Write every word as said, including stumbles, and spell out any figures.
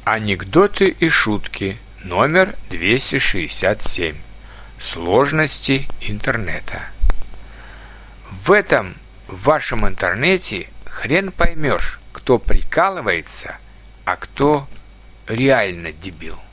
Анекдоты и шутки номер двести шестьдесят семь. Сложности интернета. В этом вашем интернете хрен поймешь, кто прикалывается, а кто реально дебил.